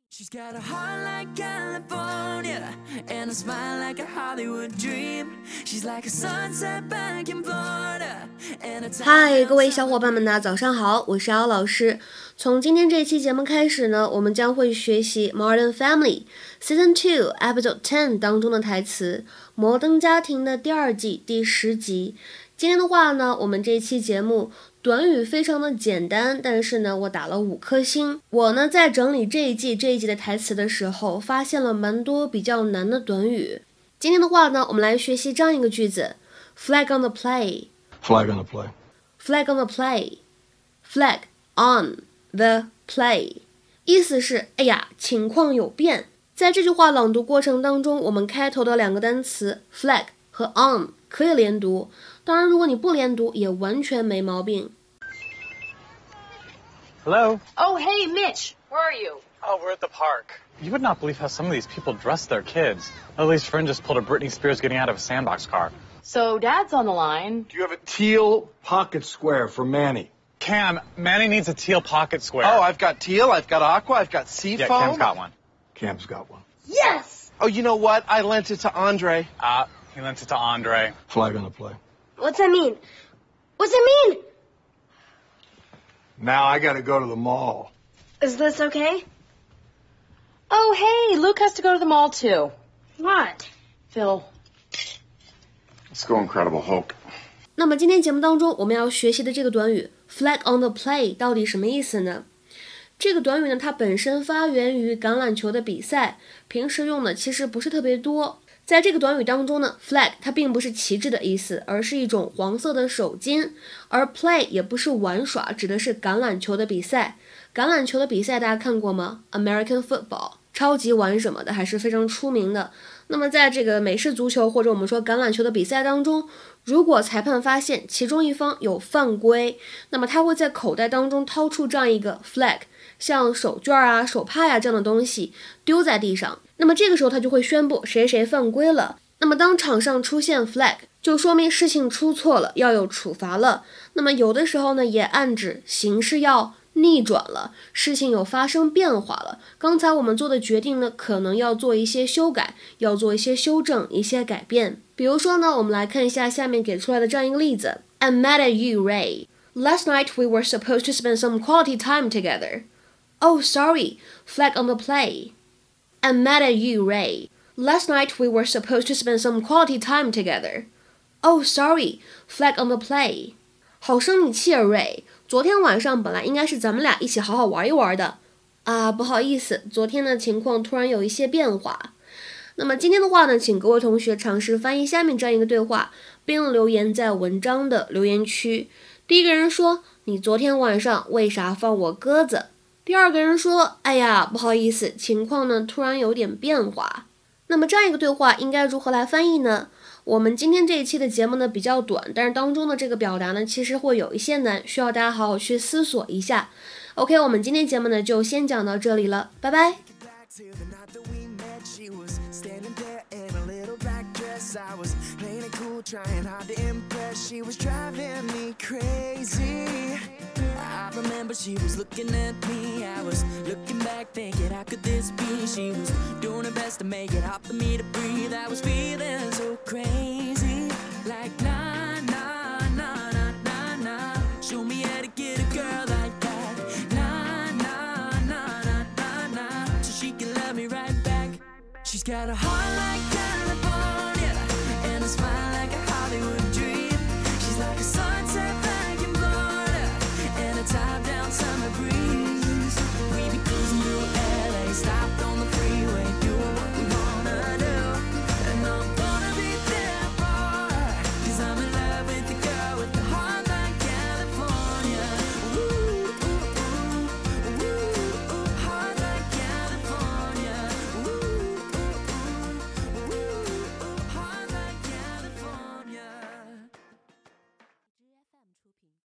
She's got a heart like California and a smile like a Hollywood dream. She's like a sunset back in Florida. 嗨，各位小伙伴们呢，早上好，我是姚老师。从今天这期节目开始呢，我们将会学习 Modern Family Season 2 Episode 10当中的台词，摩登家庭的第二季第10集。今天的话呢，我们这一期节目短语非常的简单，但是呢，我打了5颗星。我呢在整理这一季的台词的时候，发现了蛮多比较难的短语。今天的话呢，我们来学习这样一个句子 ：Flag on the play。Flag on the play. Flag on the play. Flag on the play. 意思是，哎呀，情况有变。在这句话朗读过程当中，我们开头的2个单词 flag 和 on 可以连读，当然如果你不连读也完全没毛病。 Hello? Oh, hey, Mitch. Where are you? Oh, we're at the park. You would not believe how some of these people dress their kids. Lily's friend just pulled a Britney Spears getting out of a sandbox car. So Dad's on the line. Do you have a teal pocket square for Manny? Cam, Manny needs a teal pocket square. Oh, I've got teal, I've got aqua, I've got seafoam. Yeah, Cam's got one. Cam's got one. Yes! Oh, you know what? I lent it to Andre. He lent it to Andre. Flag on the play. What's that mean? What's that mean? Now I gotta go to the mall. Is this okay? Oh, hey, Luke has to go to the mall too. What? Phil. Let's go Incredible Hulk. 那么今天节目当中我们要学习的这个短语 flag on the play 到底什么意思呢？这个短语呢，它本身发源于橄榄球的比赛，平时用的其实不是特别多。在这个短语当中呢 flag 它并不是旗帜的意思，而是一种黄色的手巾，而 play 也不是玩耍，指的是橄榄球的比赛。橄榄球的比赛大家看过吗？ American football 超级碗什么的还是非常出名的。那么在这个美式足球或者我们说橄榄球的比赛当中，如果裁判发现其中一方有犯规，那么他会在口袋当中掏出这样一个 flag， 像手绢啊、手帕呀这样的东西丢在地上，那么这个时候他就会宣布谁谁犯规了。那么当场上出现 flag， 就说明事情出错了，要有处罚了。那么有的时候呢，也暗指形势要逆转了，事情有发生变化了，刚才我们做的决定呢，可能要做一些修改，要做一些修正，一些改变。比如说呢，我们来看一下下面给出来的这样一个例子 I'm mad at you, Ray. Last night we were supposed to spend some quality time together. Oh, sorry, flag on the play. I'm mad at you, Ray. Last night we were supposed to spend some quality time together. Oh, sorry, flag on the play. 好生你气啊 Ray， 昨天晚上本来应该是咱们俩一起好好玩一玩的啊，不好意思，昨天的情况突然有一些变化。那么今天的话呢，请各位同学尝试翻译下面这样一个对话，并留言在文章的留言区。第一个人说，你昨天晚上为啥放我鸽子？第二个人说，哎呀，不好意思，情况呢突然有点变化。那么这样一个对话应该如何来翻译呢？我们今天这一期的节目呢比较短，但是当中的这个表达呢其实会有一些难，需要大家好好去思索一下。OK， 我们今天节目呢就先讲到这里了，拜拜。 I was playing it cool, trying hard to impress. She was driving me crazy. I remember she was looking at me. I was looking back thinking, how could this be? She was doing her best to make it hard for me to breathe. I was feeling so crazy. Like, nah, nah, nah, nah, nah, nah. Show me how to get a girl like that. Nah, nah, nah, nah, nah, nah. So she can love me right back. She's got a heart like California and a smile